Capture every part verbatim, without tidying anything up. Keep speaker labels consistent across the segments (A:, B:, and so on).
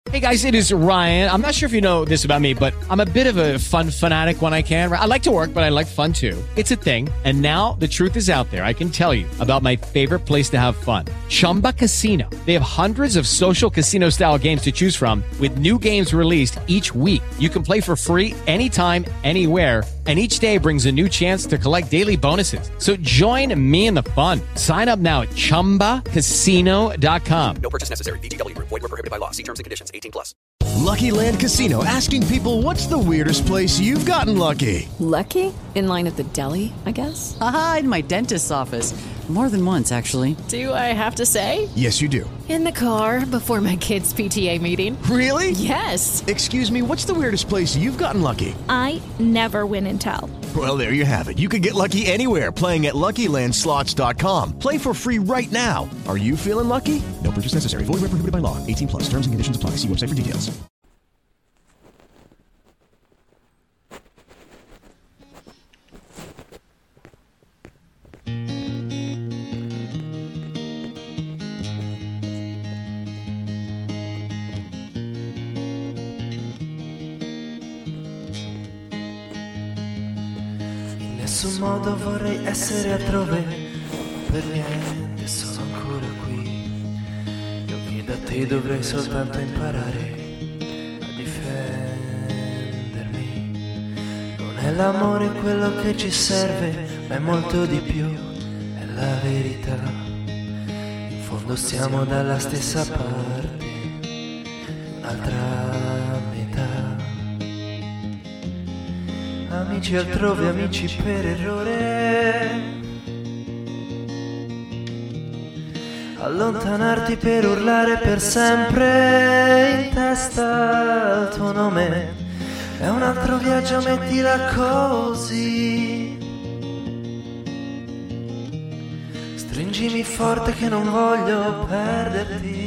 A: Hey guys, it is Ryan. I'm not sure if you know this about me, but I'm a bit of a fun fanatic when I can. I like to work, but I like fun too. It's a thing. And now the truth is out there. I can tell you about my favorite place to have fun. Chumba Casino. They have hundreds of social casino style games to choose from with new games released each week. You can play for free anytime, anywhere. And each day brings a new chance to collect daily bonuses. So join me in the fun. Sign up now at chumba casino dot com.
B: No purchase necessary. V G W. Void where prohibited by law. See terms and conditions. eighteen plus.
C: Lucky Land Casino, asking people, what's the weirdest place you've gotten lucky?
D: Lucky? In line at the deli, I guess?
E: Aha, in my dentist's office. More than once, actually.
D: Do I have to say?
C: Yes, you do.
D: In the car before my kids' P T A meeting.
C: Really?
D: Yes.
C: Excuse me, what's the weirdest place you've gotten lucky?
F: I never win and tell.
C: Well, there you have it. You can get lucky anywhere, playing at Lucky Land Slots dot com. Play for free right now. Are you feeling lucky? No purchase necessary. Void where prohibited by law. eighteen plus. Terms and conditions apply. See website for details.
G: In nessun modo vorrei essere altrove, per niente sono ancora qui. Io che da te dovrei soltanto imparare a difendermi. Non è l'amore quello che ci serve, ma è molto di più, è la verità. In fondo siamo dalla stessa parte, un'altra metà. Amici altrove, amici per errore. Allontanarti per urlare per sempre in testa al tuo nome. È un altro viaggio, mettila così. Stringimi forte che non voglio perderti.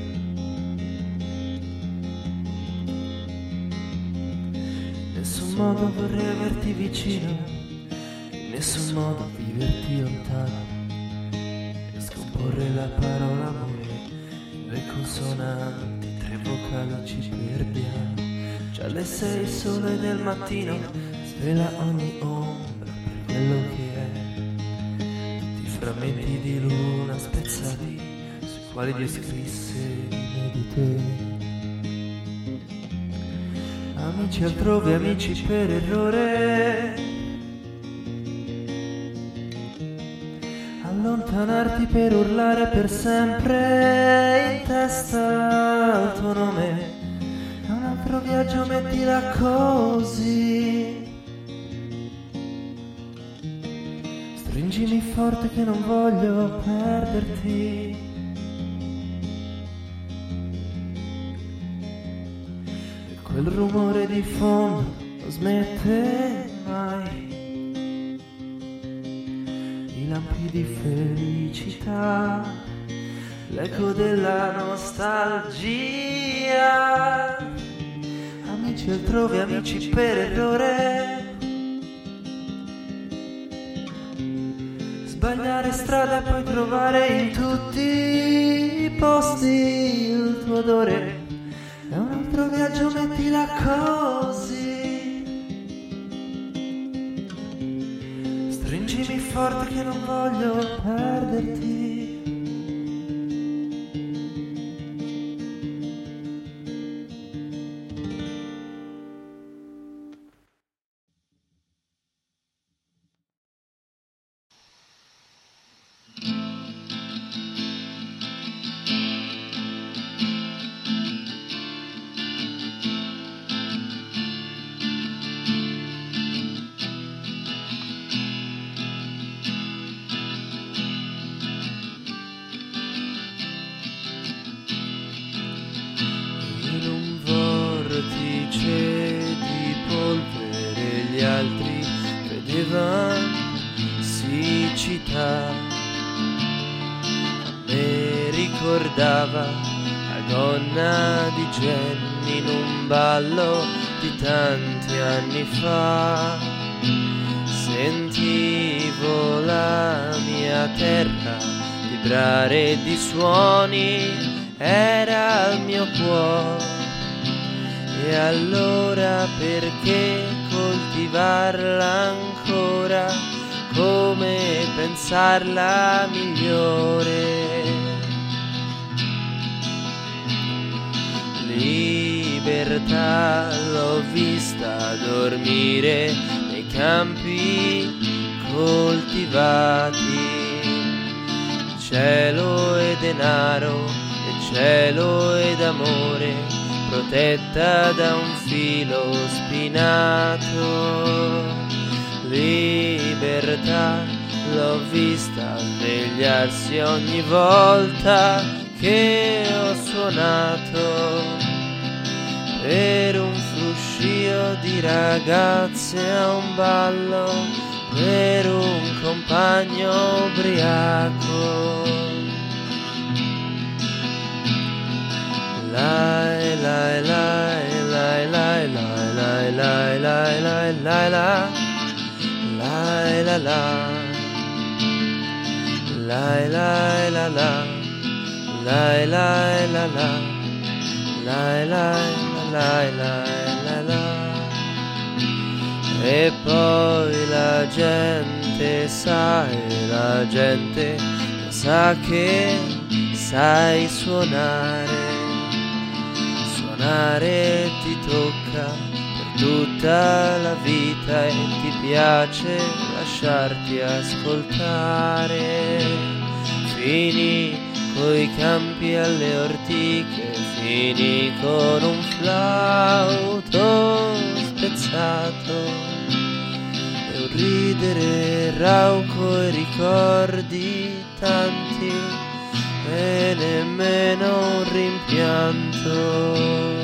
G: In nessun modo vorrei averti vicino, in nessun modo viverti lontano e scomporre la parola amore in due consonanti, tre vocali ci perdiamo. Già alle sei il sole del mattino svela ogni ombra per quello che è. Tutti i frammenti di luna spezzati sui quali Dio scrisse di te. Amici altrove, amici per errore. Allontanarti per urlare per sempre in testa al tuo nome. È un altro viaggio, mettila così. Stringimi forte che non voglio perderti. Quel rumore di fondo non smette mai. I lampi di felicità, l'eco della nostalgia. Amici altrove, amici per errore. Sbagliare strada e poi trovare in tutti i posti il tuo odore. È un altro viaggio, mettila così. Stringimi forte che non voglio perderti. Siccità me ricordava la gonna di Jenny in un ballo di tanti anni fa. Sentivo la mia terra vibrare di suoni, era il mio cuore allora perché coltivarla ancora, come pensarla migliore? Libertà l'ho vista dormire nei campi coltivati, cielo e denaro, e cielo ed amore, protetta da un filo spinato. Libertà l'ho vista svegliarsi ogni volta che ho suonato per un fruscio di ragazze a un ballo, per un compagno ubriaco. Lai lai lai lai lai lai lai lai lai lai lai la lai la la lai lai la la lai lai la la lai lai la la la la. E poi la gente sa, e la gente sa che sai suonare, suonare ti tocca per tutta la vita e ti piace lasciarti ascoltare. Fini coi campi alle ortiche, fini con un flauto spezzato e un ridere rauco e ricordi tanti e nemmeno un rimpianto.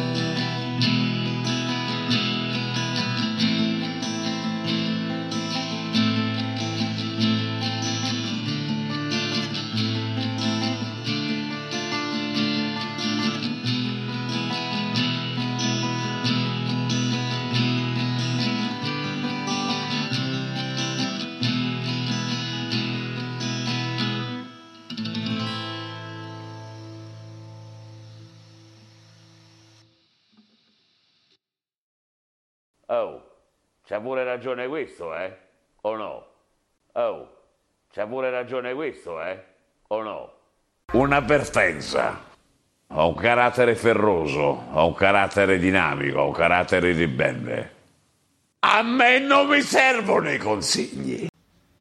H: Oh, c'ha pure ragione questo, eh? O no? Oh, c'ha pure ragione questo, eh? O no? Un'avvertenza. Ho un carattere ferroso, ho un carattere dinamico, ho un carattere ribelle. A me non mi servono i consigli.